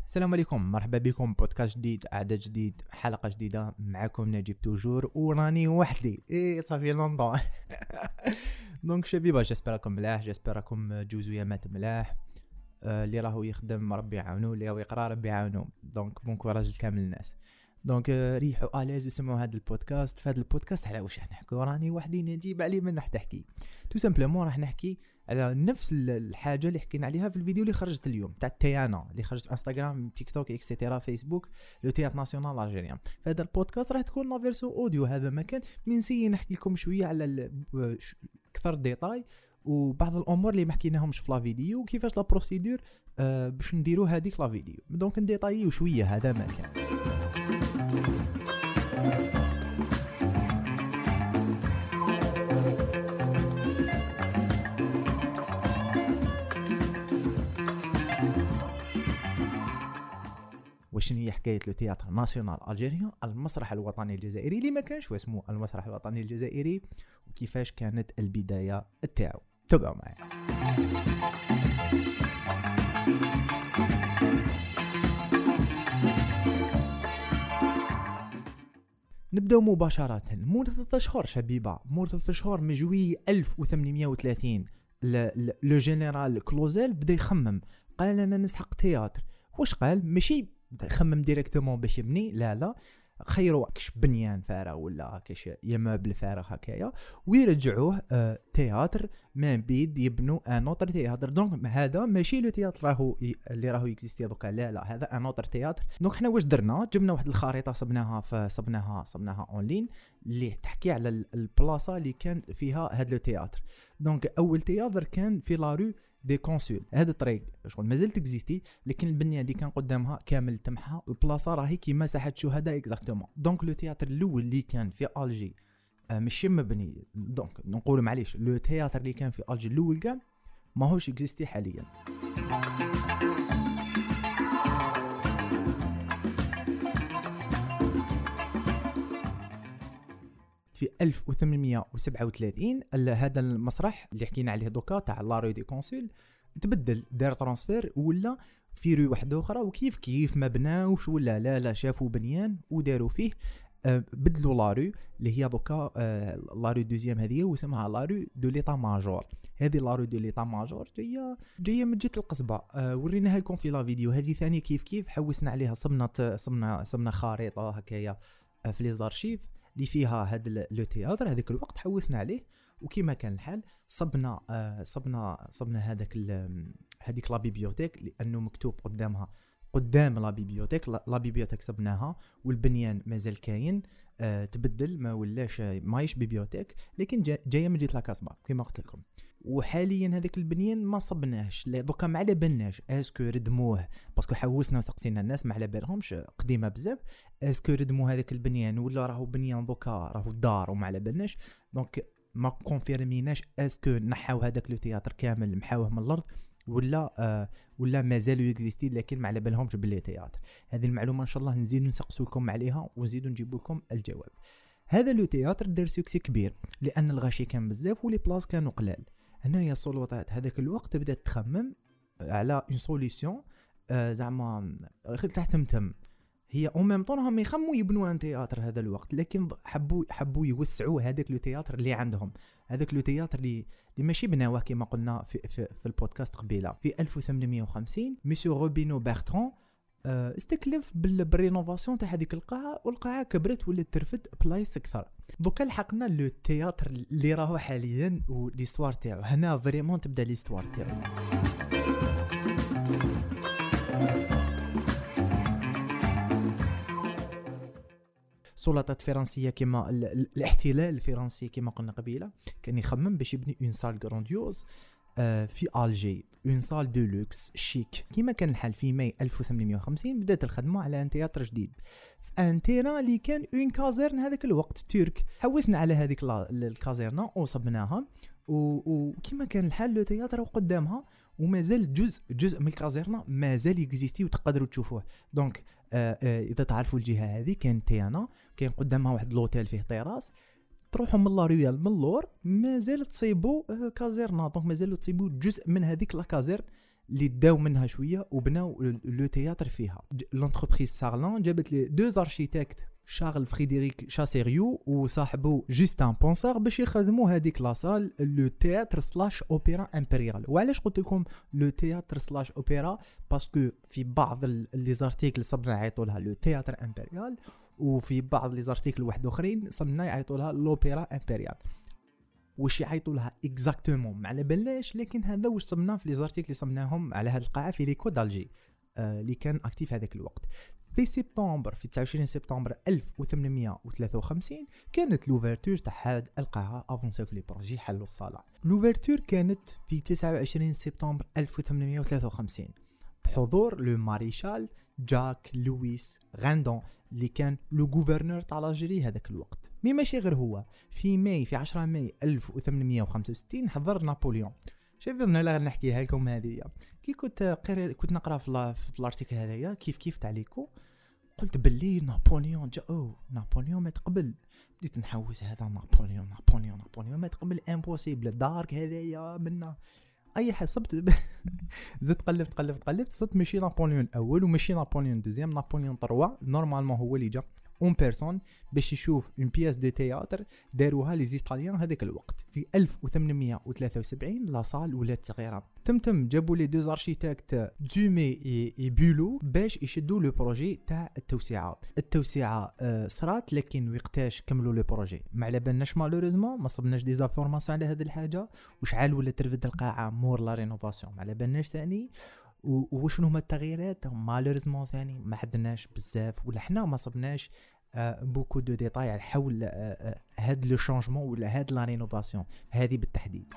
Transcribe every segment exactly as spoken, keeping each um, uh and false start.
السلام عليكم، مرحبا بكم بودكاست جديد، عدد جديد، حلقه جديده. معكم نجيب توجور وراني وحدي. ايه صافي لونطون. دونك شبيبه، جيسبراكم ملاح، جيسبراكم جوزو مات ملاح. آه اللي راهو يخدم ربي يعاونو، اللي راهو يقرا ربي يعاونو. دونك بون كوراج لكامل الناس. دونك ريحوا اليز وسمعوا هذا البودكاست. في هذا البودكاست على واش راح نحكوا؟ راني وحدي نجيب عليه من راح تحكي تو سامبلومون. راح نحكي على نفس الحاجه اللي حكينا عليها في الفيديو اللي خرجت اليوم تاع التيانا اللي خرجت في انستغرام، تيك توك، اكسيتيرا، فيسبوك، لو تياتر ناسيونال الجيريان. في هذا البودكاست راح تكون لا فيرسيون اوديو. هذا مكان نسي نحكي لكم شويه على اكثر ديتاي وبعض الامور اللي ما حكيناهمش في لا فيديو، وكيفاش لا بروسيدور آه باش نديروا هذيك لا فيديو. دونك نديتايو شويه. هذا مكان وشن هي حكايه لو تياتر ناسيونال الجيريان، المسرح الوطني الجزائري اللي ما كانش واسمه المسرح الوطني الجزائري، وكيفاش كانت البدايه تاعو. تابعوا معايا. نبداو مباشره. مور ثلاثة اشهر شبيبه، مور ثلاثة اشهر من جويي ألف وثمانمائة وثلاثين، لو جنرال كلوزيل بدا يخمم. قال انا نسحق تياتر. واش قال؟ ماشي خمم ديريكتومون باش يبني، لا لا، خيروا كش بنيان فارغ ولا كش يمابل فارغ هكايا ويرجعوه آه تياتر من بيد يبنوا ان اوتر تياتر. دونك هذا ماشي لو تياتر راهو اللي راهو اكزيستي دوكا، لا لا، هذا ان اوتر تياتر. دونك حنا واش درنا؟ جبنا واحد الخريطه صبناها فصبناها صبناها اون لين اللي تحكي على البلاصه اللي كان فيها هذا لو تياتر. دونك اول تياتر كان في لا رو دي كونسول. هذا الطريق شغل مازال تكزيستي، لكن البنيه اللي كان قدامها كامل تمحى. البلاصه راهي كيما ساحه شهداء اكزاكتومون. دونك لو تياتر الاول اللي كان في الجي آه ماشي مبني، دونك نقول معليش لو تياتر اللي كان في الجي الاول كاع ماهوش اكزيستي حاليا. في ألف وثمانمائة وسبعة وثلاثين هذا المسرح اللي حكينا عليه دوكا تاع لا رو دي كونسول تبدل، دار ترانسفير ولا في رو واحده اخرى. وكيف كيف ما بناوش ولا لا لا شافوا بنيان وداروا فيه أه بدلوا لا رو اللي هي دوكا أه لا رو دوزيام هذه واسمها لا رو دو ليطا ماجور. هذه لا رو دو ليطا ماجور جايه جايه من جهه القصبه. أه وريناها لكم في لا فيديو. هذه ثاني كيف كيف حوسنا عليها، صبنا صبنا صبنا خريطه هكايا في لي زارشيف اللي فيها هذا لو تياتر. هذاك الوقت حوسنا عليه وكيما كان الحال صبنا آه صبنا صبنا هذاك هذيك لا بيبيوتيك لانه مكتوب قدامها قدام لا بيبيوتيك. لا بيبيوتيك صبناها والبنيان مازال كاين، آه تبدل ما ولاش مايش بيبيوتيك، لكن جا جايه من جهه لاكاسبا كما قلت لكم. وحاليا هذاك البنيان ما صبناهش دوكا، ما على بالناش اسكو ردموه باسكو حوسنا وسقسينا الناس ما على بالهمش قديمه بزاف اسكو ردموا هذاك البنيان ولا راهو بنيان دوكا راهو دار وما على بالناش. دونك ما كونفيرميناش اسكو نحاو هذاك لو تياتر كامل محاوه من الارض ولا آه ولا مازالوا يكزيستي لكن ما على بالهمش باللي تياتر. هذه المعلومه ان شاء الله نزيدوا نسقسوا لكم عليها ونزيدوا نجيب لكم الجواب. هذا لو تياتر دار سوكسي كبير لان الغاشي كان بزاف ولي بلاص كانوا قلال. هنايا السلطات هذاك الوقت بدات تخمم على اون سوليسيون آه زعما غير تحتمتم. هي او ميم طون هم يخموا يبنوا ان تياتر هذا الوقت، لكن حبوا حبوا يوسعوا هذاك لو تياتر اللي عندهم. هذاك لو تياتر اللي اللي ماشي بناوه كما قلنا في في, في البودكاست قبيله. في ألف وثمانمائة وخمسين ميسيو روبينو بيرتران آه استكلف بالرينوفاسيون تاع هذيك القاعه، والقاعه كبرت ولات ترفد بلايص اكثر. دوكا لحقنا لو تياتر اللي راهو حاليا وليستوار تاعو. هنا فريمون تبدا ليستوار تاعو. سلطات فرنسيه كما الاحتلال الفرنسي كما قلنا قبيله كان يخمم باش يبني اون سال غرانديوز في الجي، اون سال دو لوكس شيك. كما كان الحال في ماي ألف وثمانمائة وخمسين بدات الخدمه على ان تياتر جديد في ان تيران اللي كان اون كازيرن هذاك الوقت ترك. حوسنا على هذيك الكازيرنا وصبناها وكما كان الحال لو تياتر قدامها ومازال جزء جزء من الكازيرنا مازال يكزيستي وتقدروا تشوفوه. دونك آه آه اذا تعرفوا الجهه هذه كان تيانا كان قدامها واحد لوتيل فيه طيراس، تروحوا من لا ريال من اللور مازال تصيبوا كازيرنا. دونك مازال تصيبوا جزء من هذيك لا كازير اللي داو منها شويه وبناو لو تياتر فيها. لونتربريز سارلان جابت لي دو اركيتكت شارل فريدريك شاسيريو وصاحبه جوستان بونسار باش يخدموا هذيك لاصال لو تياتر سلاش اوبرا امبريال. وعلاش قلت لكم لو تياتر سلاش اوبرا؟ باسكو في بعض لي زارتيكل صبنا يعيطوا لها لو تياتر امبريال، وفي بعض لي زارتيكل واحد اخرين صبنا يعيطوا لها لوبيرا امبريال. واش يعيطوا لها اكزاكتومون ما على بالناش، لكن هذا واش صبناه في لي زارتيكل اللي صبناهم على هذه القاعه في ليكو دالجي آه اللي كان اكتيف هذاك الوقت. في سبتمبر في تسعة وعشرين سبتمبر ألف وثمانمائة وثلاثة وخمسين كانت لوفرتور تاع هاد القاعه افونساو في لي بروجي حلوا الصاله. لوفرتور كانت في تسعة وعشرين سبتمبر ألف وثمانمائة وثلاثة وخمسين بحضور لو ماريشال جاك لويس غاندون اللي كان لو غوفرنور تاع الجيري هذاك الوقت. مي ماشي غير هو، في ماي في عشرة ماي ألف وثمانمائة وخمسة وستين حضر نابليون. شوف انا لا نحكيها لكم هذه كي كنت قريت كنت نقرا في, في الارتيكل هذايا كيف كيف تاع ليكو، قلت باللي نابليون جا او نابليون ما تقبل. بديت نحوس هذا نابليون نابليون نابليون ما تقبل امبوسيبل دارك هذايا منا اي حد صبت. زدت قلبت قلبت قلبت صرت ماشي نابليون الاول وماشي نابليون دوزيام، نابليون ثلاثة نورمالمون هو اللي جا اون بيرسون باش يشوف اون بياس دو تياتر داروها لي زيطاليان هذاك الوقت في ألف وثمانمائة وثلاثة وسبعين. لا صال ولات صغيره تمتم جابوا لي دو اركيتكت دومي اي بولو باش يشدوا لو بروجي تاع التوسعه. التوسعه آه صرات لكن وقتاش كملوا لو بروجي ما على بالناش مالوريزمون، ما صبناش دي زافورماسيون على هذه الحاجه. وشحال ولا ترفد القاعه مور لا رينوفاسيون ما على بالناش ثاني. وشنو هما التغييرات مالوريزمون ثاني ما حدناش بزاف ولا حنا ما صبناش آه بوكو دو ديتاي على حول آه هاد لو شانجمون ولا هاد لا رينوفاسيون هذه بالتحديد.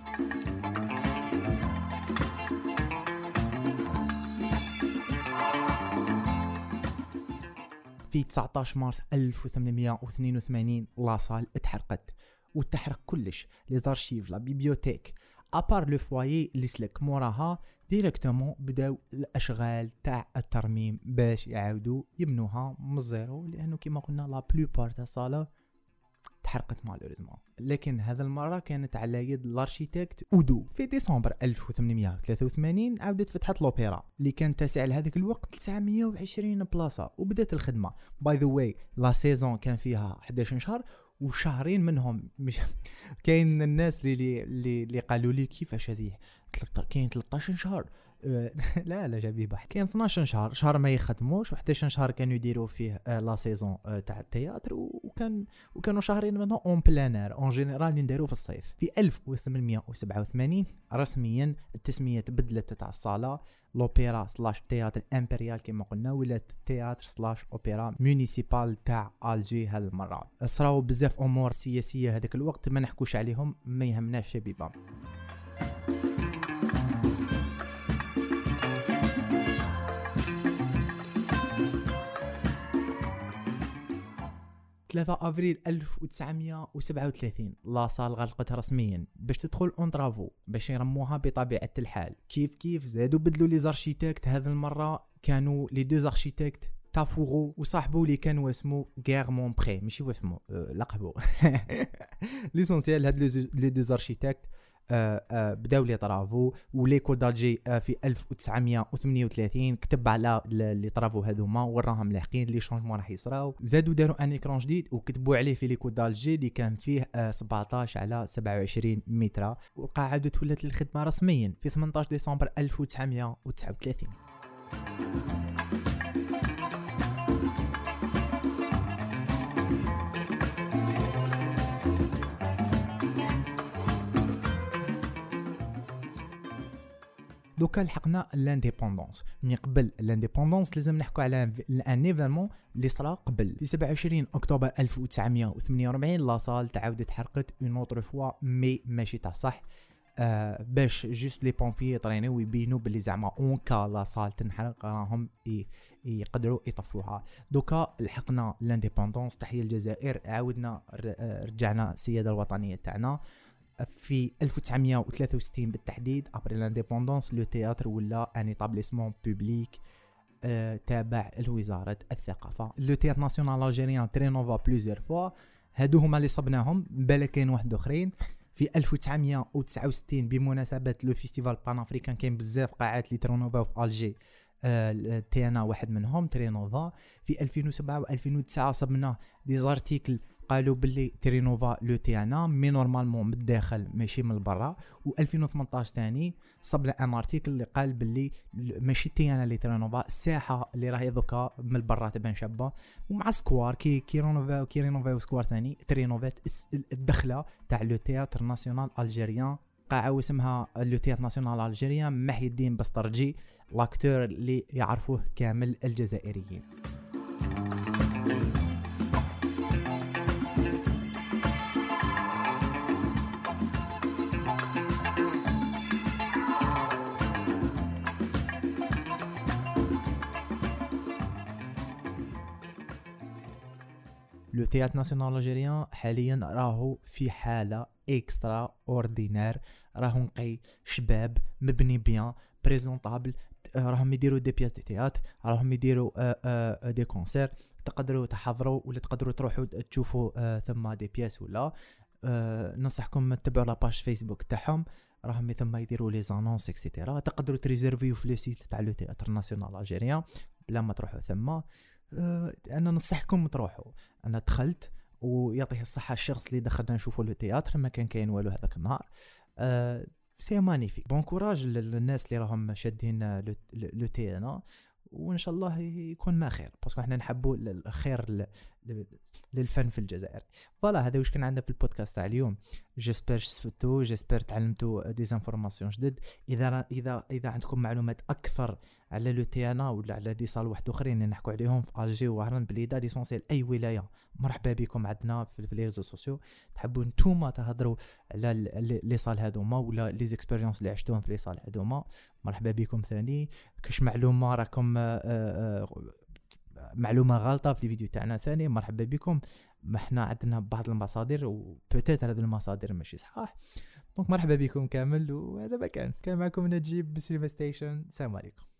في تسعطاش مارس ألف وثمانمائة واثنين وثمانين لاصال اتحرقت وتحرق كلش لي زارشيف لا بيبيوتيك ابار لو فوايي اللي سلك موراها ديريكتومون بداو الاشغال تاع الترميم باش يعاودوا يبنوها من الزيرو، لانه كما قلنا لا بلوبار تاع الصاله تحرقت مالوريزمون. لكن هذا المره كانت على يد الاركيتكت اودو. في ديسمبر ألف وثمانمائة وثلاثة وثمانين عاودت فتحت لوبيرا اللي كان تاسع لهذاك الوقت تسعمائة وعشرين بلاصه وبدات الخدمه. باي ذا واي لا سيزون كان فيها أحد عشر شهر وشهرين منهم مش كاين الناس اللي اللي اللي قالوا لي كيفاش هذه كاين ثلاثة عشر شهر لا لا جابي بحث كاين اثنا عشر شهر شهر ما يخدموش و11 شهر كانوا يديروا فيه لا سيزون تاع التياتر وكان وكانوا شهرين منهم اون بلانير اون جينيرال نديروا في الصيف. في ألف وثمانمائة وسبعة وثمانين رسميا التسميه تبدلت تاع الصاله لوبيرا سلاش تياتر امبريال كما قلنا ولات تياتر سلاش اوبرا مونيسيبال تاع الجي. هالمره صراو بزاف امور سياسيه هذاك الوقت ما نحكوش عليهم ما يهمناش شبيبه. ثلاثة أفريل ألف وتسعمائة وسبعة وثلاثين لا صال غلقت رسميا باش تدخل اون ترافو باش يرموها بطبيعه الحال. كيف كيف زادوا بدلوا لي زارشيتكت هذه المره كانوا لي دو اركيتكت تافورو وصاحبه اللي كان اسمه غيرمون بري ماشي واسمه أه لقبه ليسونسيال. هاد لي دو اركيتكت آه آه بداو لي طرافو وليكو دالجي آه في ألف وتسعمائة وثمانية وثلاثين كتب على لي طرافو هذوما وراهم لاحقين لي شونجمون راح يصراو. زادوا داروا ان ايكران جديد وكتبوا عليه في ليكو دالجي اللي كان فيه آه سبعطاش على سبعة وعشرين متر. والقاعه ولات للخدمه رسميا في ثمنطاش ديسمبر ألف وتسعمائة وتسعة وثلاثين. دوكا لحقنا لانديبوندونس. من قبل لانديبوندونس لازم نحكوا على ان ايفينمون اللي صرا قبل. في سبعة وعشرين اكتوبر ألف وتسعمائة وثمانية وأربعين لا صال تعاودت حرقت اون اوتر فوا مي ماشي تاع صح آه باش جوست لي بومبيي طرينو ويبينوا باللي زعما اون كا لا صال تنحرق راهم يقدروا يطفوها. دوكا لحقنا لانديبوندونس. تحيه الجزائر عاودنا رجعنا السياده الوطنيه تاعنا. في ألف وتسعمائة وثلاثة وستين بالتحديد ابري لانديبوندونس لو تياتر ولا ان ايتابليسمون بوبليك آه تابع لوزاره الثقافه. لو تياتر ناسيونال الجيريان ترينوفا بليزيور فوا. هادو هما اللي صبناهم بالك كاين واحد اخرين. في ألف وتسعمية وتسعة وستين بمناسبه لو فيستيفال بان افريكان كاين بزاف قاعات لي ترونوفا في الجي، آه تيانا واحد منهم ترينوفا. في ألفين وسبعة و2009 صبنا دي زارتيكل قالوا باللي ترينوفا لو تيانا مي نورمالمون من الداخل ماشي من برا. و2018 ثاني صبنا ان ارتيكل اللي قال باللي ماشي تيانا اللي ترينوفا، الساحه اللي راهي دوكا من برا تبان شابه. ومع سكوار كي كي رينوفا كي رينوفا وسكوار ثاني ترينوفات الدخله تاع لو تياتر ناسيونال الجيريان، قاعه اسمها لو تياتر ناسيونال الجيريان محي الدين بسترجي، لاكتور اللي يعرفوه كامل الجزائريين. لو تياتر ناسيونال الجيريان حاليا راهو في حاله اكسترا اوردينير، راهو نقي شباب مبني بيان بريزونطابل، راهم يديروا دي بياس دي تياتر، راهم يديروا آآ آآ دي كونسير، تقدروا تحضروا ولا تقدروا تروحوا تشوفوا ثم دي بياس. ولا ننصحكم تتبعوا لاباج فيسبوك تاعهم، راهم ثم يديروا لي زانونس اكسيتيرا. تقدروا تريزيرفيو في لو سيت تاع لو تياتر ناسيونال الجيريان بلا ما تروحوا ثم. انا ننصحكم تروحوا. انا دخلت ويعطيه الصحه الشخص اللي دخلنا نشوفوا لو تياتر، ما كان كاين والو هذاك النهار. أه سي مانيفيك. بون كوراج للناس اللي راهم شادين لو تيانا، وان شاء الله يكون ما خير، باسكو احنا نحبوا الخير للفن في الجزائر. فوالا هذا واش كان عندنا في البودكاست تاع اليوم. جيسبر استفدتوا، جيسبر تعلمتوا دي انفورماسيون جدد. اذا اذا اذا عندكم معلومات اكثر على لو تيانا ولا على دي صال واحد اخرين اللي نحكوا عليهم في الجي وهران بليدا ليسونسيال اي ولايه، مرحبا بكم عندنا في لي ريزو سوسيو. تحبوا نتوما تهضروا على لي صال هذوما ولا لي زيكسبيريونس اللي عشتوهم في لي صال هذوما، مرحبا بكم ثاني. كاش معلومه راكم معلومه غلطه في الفيديو تاعنا ثاني، مرحبا بكم. ما احنا عندنا بعض المصادر وبوتيتر هذه المصادر ماشي صحاح، دونك مرحبا بكم كامل. وهذا ما كان كان معكم نجيب بسيلفا ستيشن. السلام عليكم.